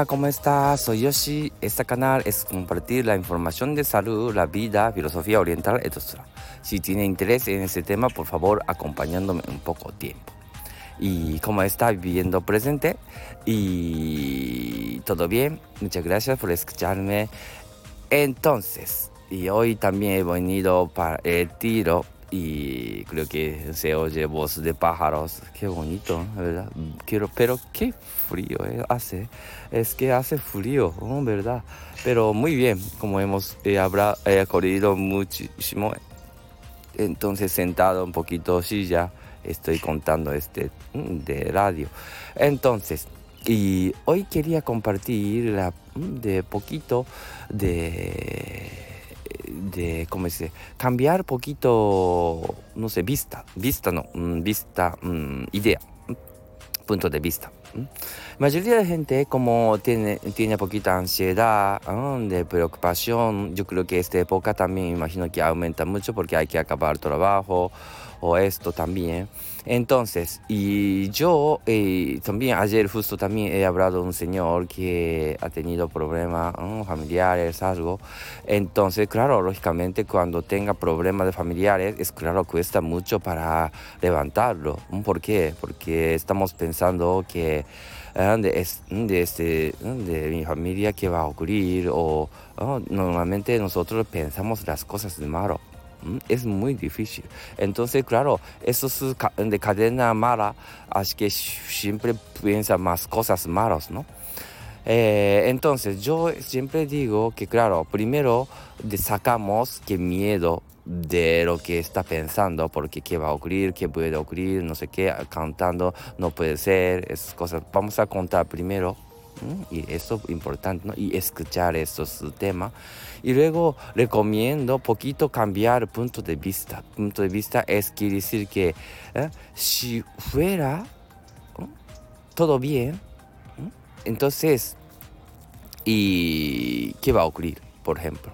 Hola, ¿cómo estás? Soy Yoshi. Este canal es compartir la información de salud, la vida, filosofía oriental, etc. Si tiene interés en este tema, por favor, acompañándome un poco tiempo. ¿Y cómo está viviendo presente? ¿Y todo bien? Muchas gracias por escucharme. Entonces, y hoy también he venido para el tiro. Y creo que se oye voz de pájaros. Qué bonito, ¿verdad? Pero qué frío hace. Es que hace frío, ¿no? ¿Verdad? Pero muy bien, como hemos corrido muchísimo. Entonces sentado un poquito silla, estoy contando de radio. Entonces, y hoy quería compartir de poquito ¿cómo se dice? Cambiar poquito, no sé, idea, punto de vista. Mayoría de gente como tiene poquita ansiedad, de preocupación. Yo creo que esta época también imagino que aumenta mucho porque hay que acabar trabajo o esto también. Entonces, y yo también ayer justo también he hablado de un señor que ha tenido problemas familiares, algo. Entonces, claro, lógicamente cuando tenga problemas de familiares, es claro, cuesta mucho para levantarlo. ¿Por qué? Porque estamos pensando que de mi familia qué va a ocurrir o normalmente nosotros pensamos las cosas de malo. Es muy difícil. Entonces, claro, eso es de cadena mala, así que siempre piensa más cosas malas, ¿no? Entonces, yo siempre digo que, claro, primero sacamos qué miedo de lo que está pensando, porque qué va a ocurrir, qué puede ocurrir, no sé qué, cantando, no puede ser, esas cosas. Vamos a contar primero. Y eso es importante, ¿no? Y escuchar estos temas. Y luego recomiendo poquito cambiar punto de vista. Punto de vista quiere decir que si fuera todo bien, entonces, ¿y qué va a ocurrir, por ejemplo?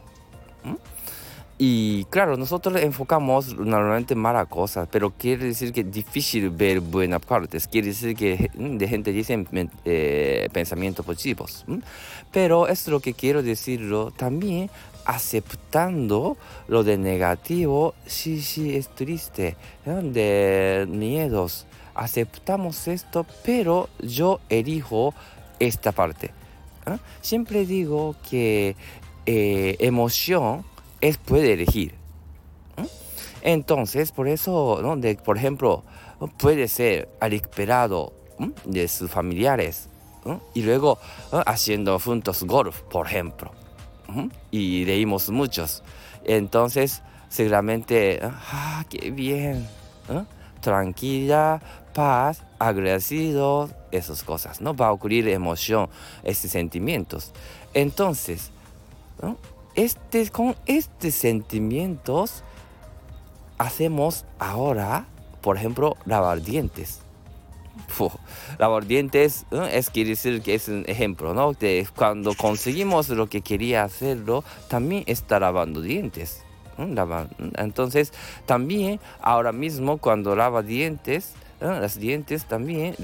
Y claro, nosotros enfocamos normalmente malas cosas, pero quiere decir que es difícil ver buenas partes. Quiere decir que de gente dice pensamientos positivos. Pero es lo que quiero decirlo también aceptando lo de negativo. Sí, es triste, de miedos. Aceptamos esto, pero yo elijo esta parte. Siempre digo que emoción puede elegir. Entonces, por eso, ¿no? Por ejemplo, puede ser recuperado de sus familiares y luego haciendo juntos golf, por ejemplo. Y leímos muchos. Entonces, seguramente, qué bien. Tranquila, paz, agradecido, esas cosas, ¿no? Va a ocurrir emoción, estos sentimientos. Entonces, ¿no? Con estos sentimientos hacemos ahora, por ejemplo, lavar dientes. Lavar dientes quiere decir que es un ejemplo, ¿no? De cuando conseguimos lo que quería hacerlo, también está lavando dientes. Entonces, también ahora mismo cuando lava dientes, los dientes también,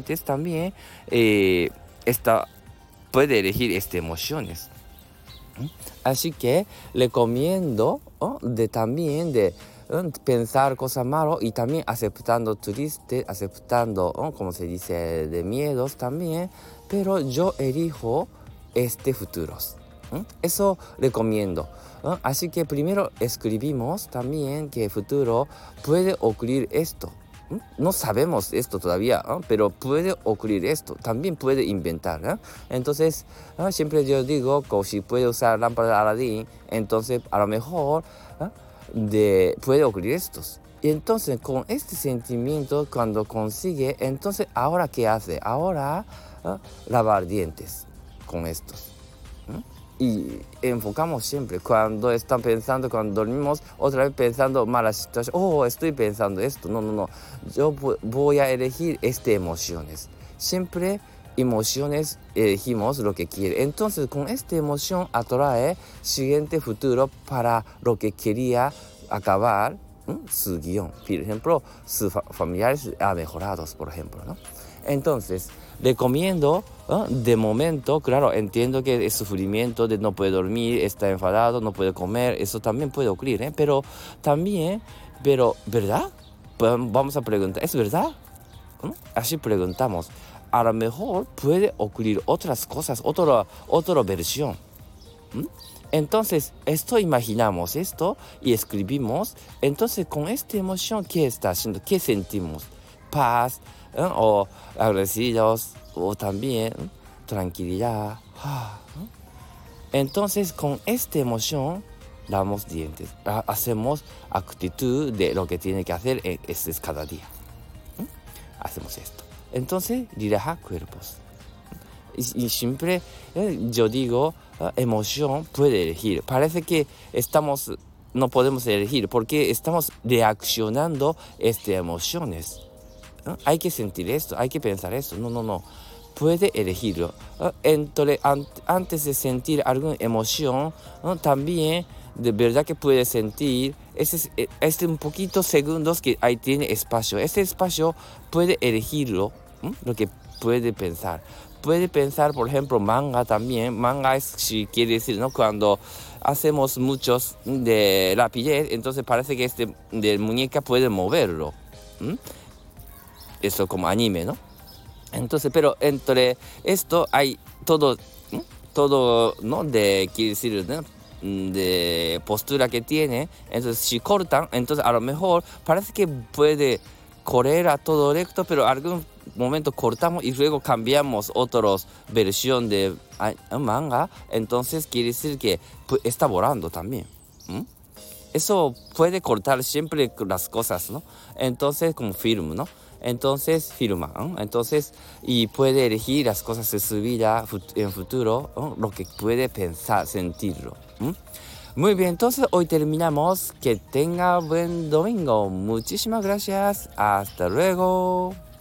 puede elegir emociones. Así que recomiendo también de pensar cosas malas y también aceptando triste, aceptando, como se dice, de miedos también, pero yo elijo futuros. Eso recomiendo. Así que primero escribimos también que futuro puede ocurrir esto. No sabemos esto todavía, pero puede ocurrir esto. También puede inventar. Entonces, siempre yo digo que si puede usar lámpara de Aladín, entonces a lo mejor puede ocurrir estos. Y entonces, con este sentimiento, cuando consigue, entonces, ¿ahora qué hace? Ahora, lavar dientes con estos. Y enfocamos siempre, cuando están pensando, cuando dormimos, otra vez pensando mala situación, estoy pensando esto, no, yo voy a elegir emociones, siempre emociones elegimos lo que quiere, entonces con esta emoción atrae siguiente futuro para lo que quería acabar, su guión. Por ejemplo, sus familiares han mejorado, por ejemplo, ¿no? Entonces, recomiendo, de momento, claro, entiendo que el sufrimiento de no poder dormir, está enfadado, no puede comer, eso también puede ocurrir, ¿eh? Pero también, ¿verdad? Pues vamos a preguntar, ¿es verdad? Así preguntamos. A lo mejor puede ocurrir otras cosas, otra versión. Entonces, esto imaginamos esto y escribimos. Entonces, con esta emoción, ¿qué está haciendo? ¿Qué sentimos? Paz, o agradecidos, o también tranquilidad. Entonces, con esta emoción, damos dientes. Hacemos actitud de lo que tiene que hacer es cada día. Hacemos esto. Entonces, relaja cuerpos. Y siempre yo digo, emoción puede elegir. Parece que no podemos elegir porque estamos reaccionando a estas emociones. Hay que sentir esto, hay que pensar esto. No. Puede elegirlo. Entonces, antes de sentir alguna emoción, también de verdad que puede sentir un poquito segundos que ahí tiene espacio. Este espacio puede elegirlo, lo que puede pensar. Puede pensar, por ejemplo, manga también. Manga es, si quiere decir, ¿no? Cuando hacemos muchos de rapidez, entonces parece que de muñeca puede moverlo. Eso como anime, ¿no? Entonces, pero entre esto hay todo, ¿no? Quiere decir, ¿no? De postura que tiene. Entonces, si cortan, entonces a lo mejor parece que puede correr a todo recto, pero algún momento cortamos y luego cambiamos otras versión de manga, entonces quiere decir que está volando también. Eso puede cortar siempre las cosas, ¿no? Entonces, como film, ¿no? Entonces, firma, entonces, y puede elegir las cosas de su vida en futuro, lo que puede pensar, sentirlo. Muy bien, entonces hoy terminamos. Que tenga buen domingo. Muchísimas gracias. Hasta luego.